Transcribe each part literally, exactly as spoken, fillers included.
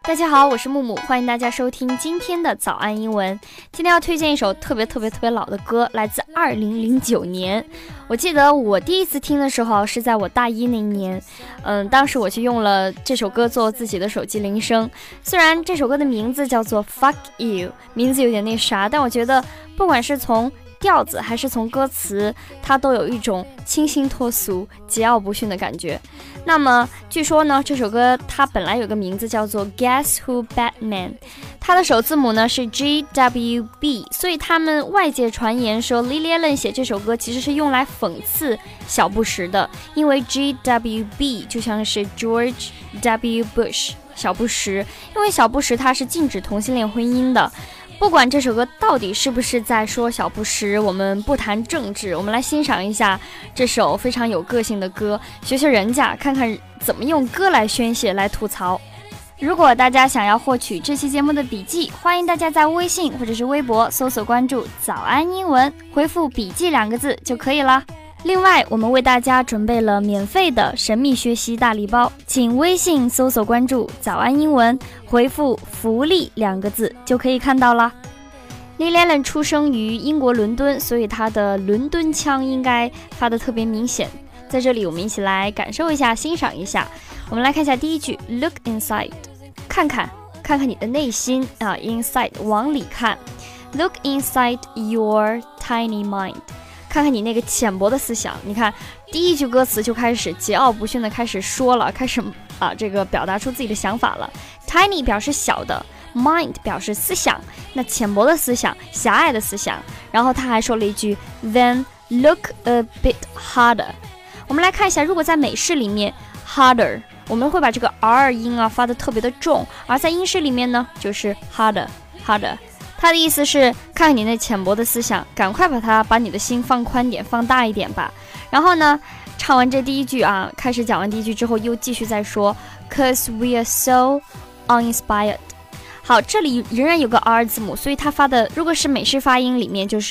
大家好，我是木木，欢迎大家收听今天的早安英文。今天要推荐一首特别特别特别老的歌，来自二零零九年。我记得我第一次听的时候是在我大一那一年，嗯，当时我就用了这首歌做自己的手机铃声。虽然这首歌的名字叫做 Fuck You， 名字有点那啥，但我觉得不管是从调子还是从歌词，它都有一种清新脱俗、桀骜不驯的感觉。那么据说呢，这首歌它本来有个名字叫做 Guess Who Batman， 它的首字母呢是 G W B， 所以他们外界传言说 Lily Allen 写这首歌其实是用来讽刺小布什的，因为 G W B 就像是 George W Bush 小布什，因为小布什他是禁止同性恋婚姻的。不管这首歌到底是不是在说小布什，我们不谈政治，我们来欣赏一下这首非常有个性的歌，学学人家，看看怎么用歌来宣泄，来吐槽。如果大家想要获取这期节目的笔记，欢迎大家在微信或者是微博搜索关注早安英文，回复笔记两个字就可以了。另外，我们为大家准备了免费的神秘学习大礼包，请微信搜索关注早安英文，回复福利两个字就可以看到了。Lily Allen 出生于英国伦敦，所以她的伦敦腔应该发得特别明显。在这里我们一起来感受一下，欣赏一下。我们来看一下第一句 Look inside， 看看看看你的内心啊 inside 往里看。 Look inside your tiny mind，看看你那个浅薄的思想。你看第一句歌词就开始桀骜不驯的开始说了，开始啊这个表达出自己的想法了。 Tiny 表示小的， mind 表示思想，那浅薄的思想，狭隘的思想。然后他还说了一句 Then look a bit harder。 我们来看一下，如果在美式里面 harder 我们会把这个 R 音啊发得特别的重，而在英式里面呢就是 harder harder。他的意思是看看你那浅薄的思想，赶快把它把你的心放宽点，放大一点吧。然后呢，唱完这第一句啊，开始讲完第一句之后，又继续再说 Cause we are so uninspired。 好，这里仍然有个 R 字母，所以它发的如果是美式发音里面就是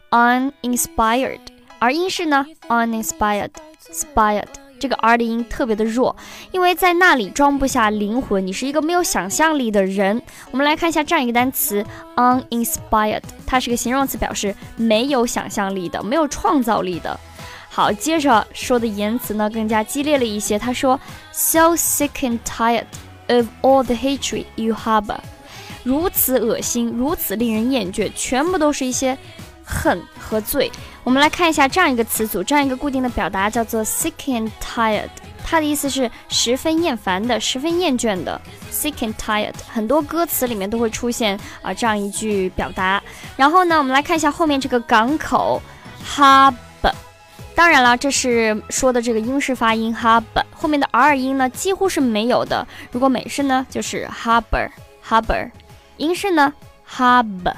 uninspired， 而英式呢 uninspired inspired，这个 R 的音特别的弱，因为在那里装不下灵魂，你是一个没有想象力的人。我们来看一下这样一个单词 uninspired， 它是个形容词，表示没有想象力的，没有创造力的。好，接着说的言辞呢更加激烈了一些，他说 So sick and tired of all the hatred you harbor， 如此恶心，如此令人厌倦，全部都是一些恨和罪。我们来看一下这样一个词组，这样一个固定的表达叫做 sick and tired， 它的意思是十分厌烦的，十分厌倦的。 sick and tired 很多歌词里面都会出现啊、呃、这样一句表达。然后呢，我们来看一下后面这个港口 harbor， 当然了，这是说的这个英式发音 harbor， 后面的 R 音呢几乎是没有的，如果美式呢就是 harbor harbor， 英式呢 harbor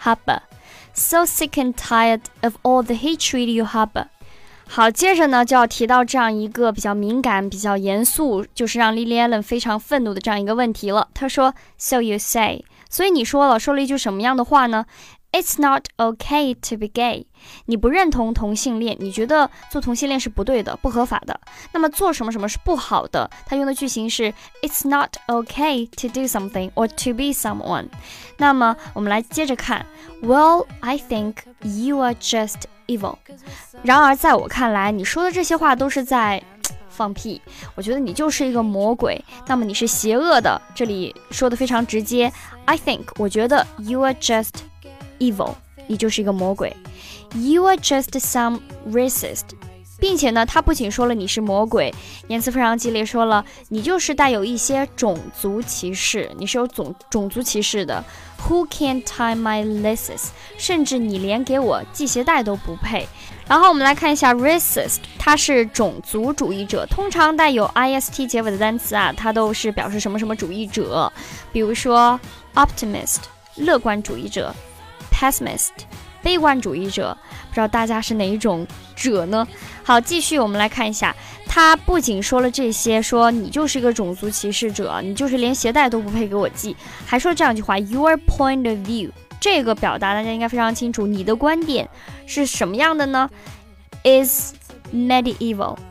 harbor。So sick and tired of all the hatred you harbor。 好，接着呢就要提到这样一个比较敏感比较严肃，就是让 Lily Allen 非常愤怒的这样一个问题了。他说 So you say， 所以你说了，说了一句什么样的话呢？ It's not okay to be gay， 你不认同同性恋，你觉得做同性恋是不对的，不合法的。那么做什么什么是不好的，他用的句型是 It's not okay to do something or to be someone。 那么我们来接着看 Well, I think you are just evil。 然而在我看来，你说的这些话都是在放屁，我觉得你就是一个魔鬼，那么你是邪恶的。这里说的非常直接， I think 我觉得 you are just evil， 你就是一个魔鬼。 You are just some racist， 并且呢他不仅说了你是魔鬼，言辞非常激烈，说了你就是带有一些种族歧视，你是有种种族歧视的。 Who can tie my laces， 甚至你连给我系鞋带都不配。然后我们来看一下 racist， 它是种族主义者，通常带有 ist 结尾的单词啊，它都是表示什么什么主义者。比如说 optimist 乐观主义者， pessimist 悲观主义者，不知道大家是哪一种者呢？好，继续我们来看一下，他不仅说了这些，说你就是一个种族歧视者，你就是连鞋带都不配给我系，还说这样一句话 Your point of view， 这个表达大家应该非常清楚，你的观点是什么样的呢？ Is medieval，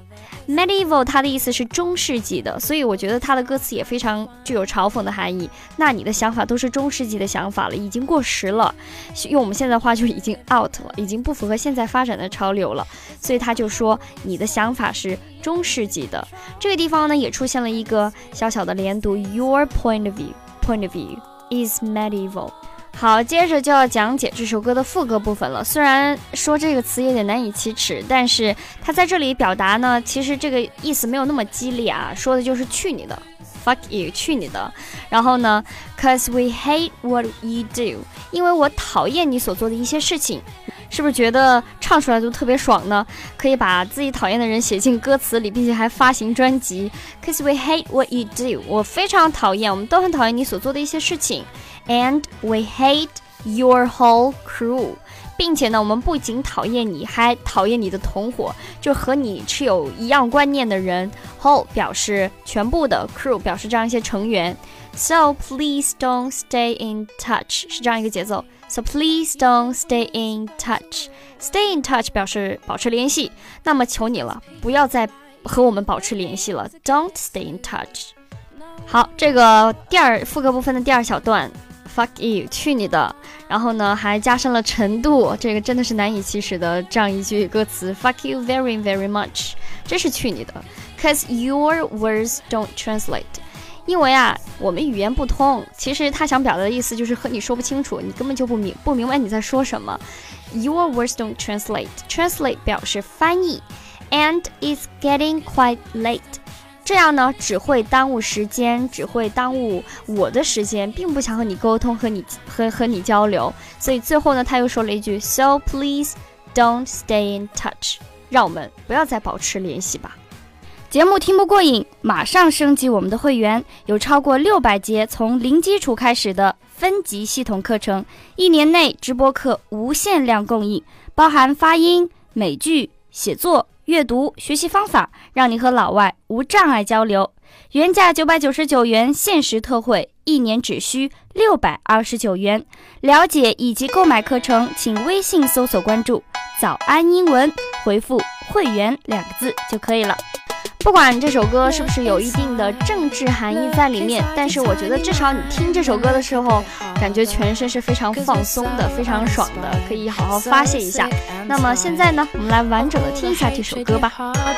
medieval 它的意思是中世纪的，所以我觉得它的歌词也非常具有嘲讽的含义。那你的想法都是中世纪的想法了，已经过时了，用我们现在话就已经 out 了，已经不符合现在发展的潮流了。所以他就说你的想法是中世纪的。这个地方呢也出现了一个小小的连读 ，Your point of view point of view is medieval。好，接着就要讲解这首歌的副歌部分了。虽然说这个词有点难以启齿，但是它在这里表达呢，其实这个意思没有那么激烈啊，说的就是去你的 ，fuck you， 去你的。然后呢 ，cause we hate what you do， 因为我讨厌你所做的一些事情。是不是觉得唱出来就特别爽呢？可以把自己讨厌的人写进歌词里，并且还发行专辑。Cause we hate what you do， 我非常讨厌，我们都很讨厌你所做的一些事情。And we hate your whole crew， 并且呢，我们不仅讨厌你，还讨厌你的同伙，就和你持有一样观念的人。Whole 表示全部的 ，crew 表示这样一些成员。So please don't stay in touch， 是这样一个节奏。So please don't stay in touch. Stay in touch 表示保持联系。那么求你了，不要再和我们保持联系了。Don't stay in touch. 好，这个第二副歌部分的第二小段 ，fuck you， 去你的。然后呢，还加深了程度，这个真的是难以启齿的这样一句歌词 ，fuck you very very much， 真是去你的。Cause your words don't translate。因为啊，我们语言不通，其实他想表达的意思就是和你说不清楚，你根本就不明不明白你在说什么。Your words don't translate. Translate 表示翻译 ，and it's getting quite late. 这样呢，只会耽误时间，只会耽误我的时间，并不想和你沟通，和你和和你交流。所以最后呢，他又说了一句 ，So please don't stay in touch. 让我们不要再保持联系吧。节目听不过瘾，马上升级我们的会员，有超过六百节从零基础开始的分级系统课程，一年内直播课无限量供应，包含发音、美句、写作、阅读、学习方法，让你和老外无障碍交流。原价九百九十九元，限时特惠，一年只需六百二十九元。了解以及购买课程，请微信搜索关注早安英文，回复会员两个字就可以了。不管这首歌是不是有一定的政治含义在里面，但是我觉得至少你听这首歌的时候，感觉全身是非常放松的，非常爽的，可以好好发泄一下。那么现在呢，我们来完整的听一下这首歌吧。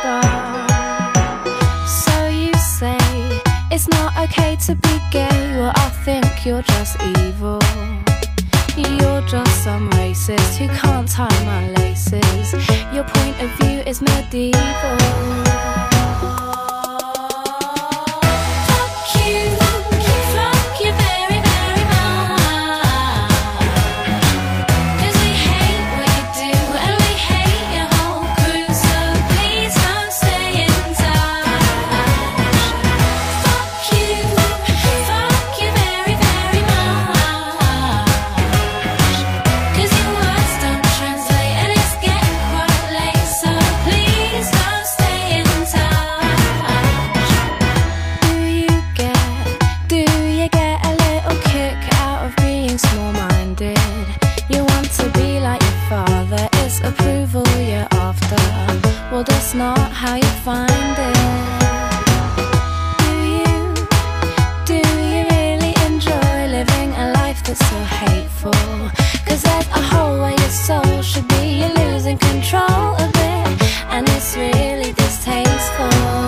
So you say it's not okay to be gay, well I think you're just evil. You're just some racist who can't tie my laces. Your point of view is medieval. That's not how you find it. Do you, do you really enjoy living a life that's so hateful? Cause there's a hole where your soul should be. You're losing control of it, and it's really distasteful.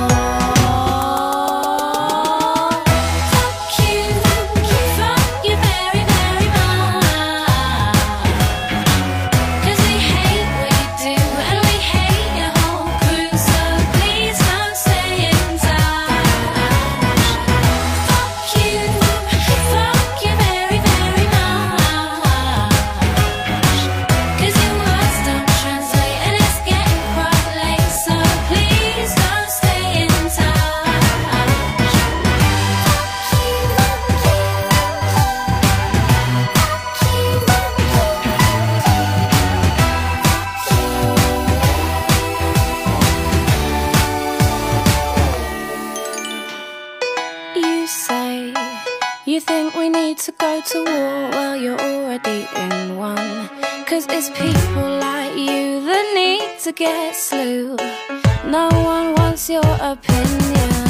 You think we need to go to war? Well, you're already in one. Cause it's people like you that need to get slew. No one wants your opinion.